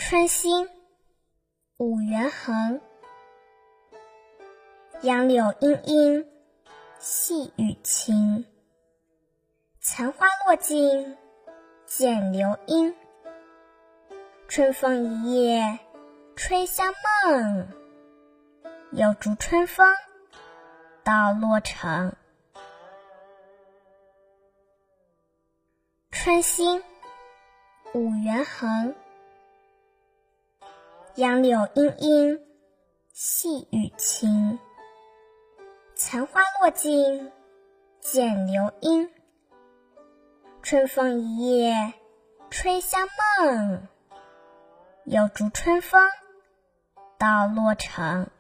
春兴，武元衡。杨柳依依，细雨倾。残花落尽，见流莺。春风一夜吹香梦，又逐春风到洛城。春兴，武元衡。杨柳依依，细雨倾。残花落尽，见流莺。春风一夜吹香梦，又逐春风到洛城。